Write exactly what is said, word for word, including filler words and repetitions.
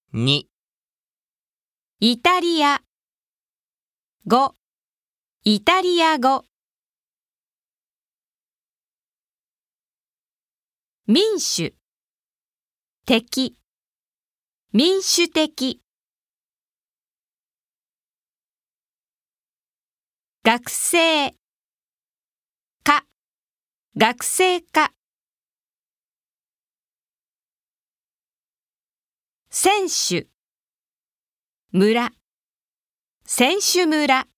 に、 イタリア。ご、イタリア語。民主、的、民主的。学生、科、学生科。選手、村、選手村。